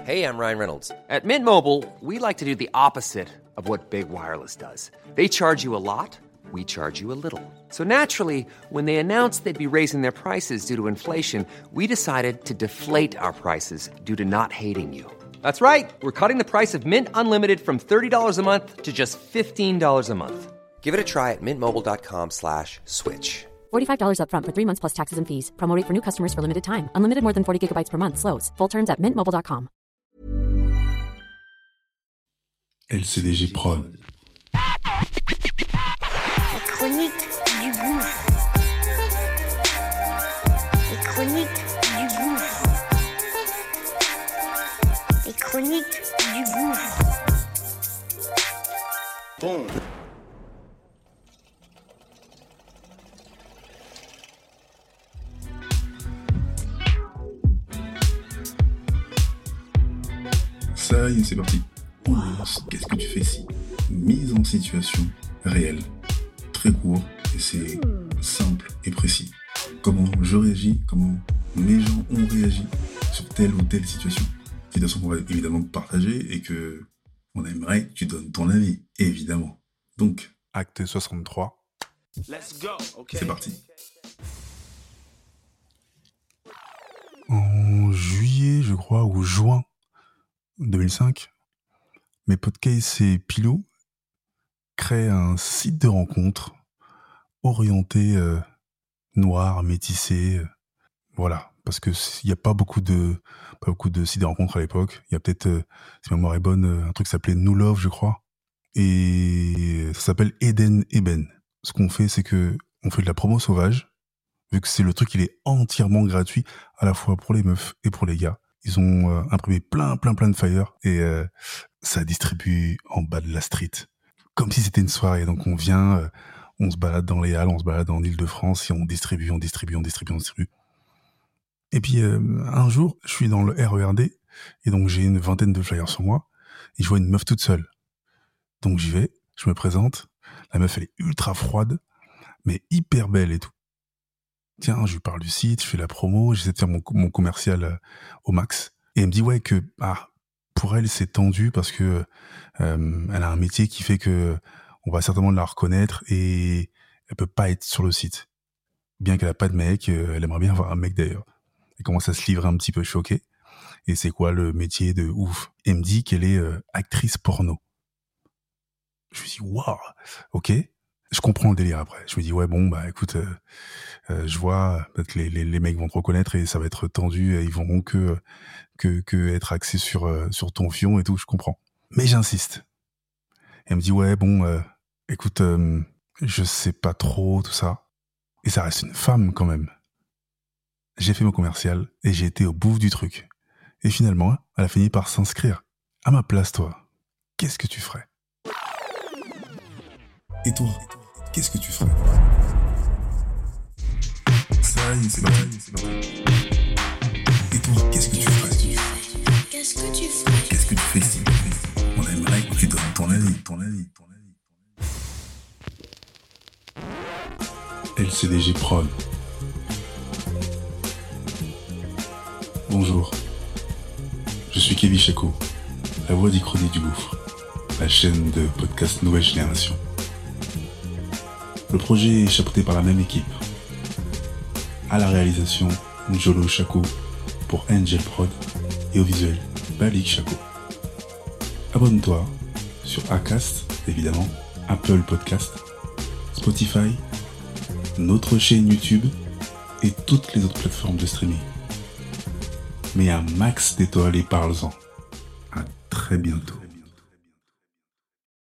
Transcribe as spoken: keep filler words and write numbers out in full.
Hey, I'm Ryan Reynolds. At Mint Mobile, we like to do the opposite of what Big Wireless does. They charge you a lot, we charge you a little. So naturally, when they announced they'd be raising their prices due to inflation, we decided to deflate our prices due to not hating you. That's right. We're cutting the price of Mint Unlimited from thirty dollars a month to just fifteen dollars a month. Give it a try at mintmobile.com slash switch. forty-five dollars up front for three months plus taxes and fees. Promo rate for new customers for limited time. Unlimited more than forty gigabytes per month. Slows full terms at mint mobile dot com. L C D J Prod. La chronique du gouffre. Les chroniques du gouffre. Les chroniques du gouffre. Bon. Ça y est, c'est parti. On lance. Qu'est-ce que tu fais ici? Mise en situation réelle. Très court, et c'est simple et précis. Comment je réagis, comment mes gens ont réagi sur telle ou telle situation. Situation qu'on va évidemment partager et que on aimerait que tu donnes ton avis, évidemment. Donc, acte soixante-trois. Let's go. Okay. C'est parti. En juillet, je crois, ou juin deux mille cinq, mes podcasts et Pilou créent un site de rencontre orienté euh, noir, métissé, euh, voilà, parce que il y a pas beaucoup de pas beaucoup de sites de rencontre à l'époque. Il y a peut-être, euh, si ma mémoire est bonne, euh, un truc qui s'appelait New Love, je crois, et ça s'appelle Eden Eben. Ce qu'on fait, c'est que on fait de la promo sauvage, vu que c'est le truc, il est entièrement gratuit à la fois pour les meufs et pour les gars. Ils ont euh, imprimé plein, plein, plein de flyers et euh, ça distribue en bas de la street. Comme si c'était une soirée. Donc on vient, euh, on se balade dans les halles, on se balade en Île-de-France et on distribue, on distribue, on distribue, on distribue. Et puis euh, un jour, je suis dans le R E R D et donc j'ai une vingtaine de flyers sur moi et je vois une meuf toute seule. Donc j'y vais, je me présente. La meuf, elle est ultra froide, mais hyper belle et tout. Tiens, je lui parle du site, je fais la promo, j'essaie de faire mon, mon commercial euh, au max. Et elle me dit ouais que ah pour elle c'est tendu parce que euh, elle a un métier qui fait que on va certainement la reconnaître et elle peut pas être sur le site. Bien qu'elle a pas de mec, euh, elle aimerait bien avoir un mec d'ailleurs. Elle commence à se livrer un petit peu choquée. Et c'est quoi le métier de ouf? Elle me dit qu'elle est euh, actrice porno. Je me dis waouh, ok. Je comprends le délire après. Je me dis ouais bon bah écoute, euh, euh, je vois peut-être les, les les mecs vont te reconnaître et ça va être tendu et ils vont que que que être axés sur euh, sur ton fion et tout. Je comprends. Mais j'insiste. Elle me dit ouais bon euh, écoute euh, je sais pas trop tout ça et ça reste une femme quand même. J'ai fait mon commercial et j'ai été au bout du truc. Et finalement elle a fini par s'inscrire. À ma place toi, qu'est-ce que tu ferais? Et toi, qu'est-ce que tu ferais? Ça y est, c'est parti, c'est parti. Et toi, qu'est-ce que tu ferais? Qu'est-ce que tu ferais? Qu'est-ce que tu fais ici? On aimerait que tu donnes ton avis, ton avis, ton avis. L C D J Prod. Bonjour. Je suis Kevin Chaco, la voix d'Ichronique du Gouffre, la chaîne de podcast Nouvelle Génération. Le projet est chapeauté par la même équipe. À la réalisation, Njolo Chaco pour Angel Prod et au visuel, Balik Chaco. Abonne-toi sur Acast, évidemment, Apple Podcast, Spotify, notre chaîne YouTube et toutes les autres plateformes de streaming. Mets un max d'étoiles et parle-en. À très bientôt.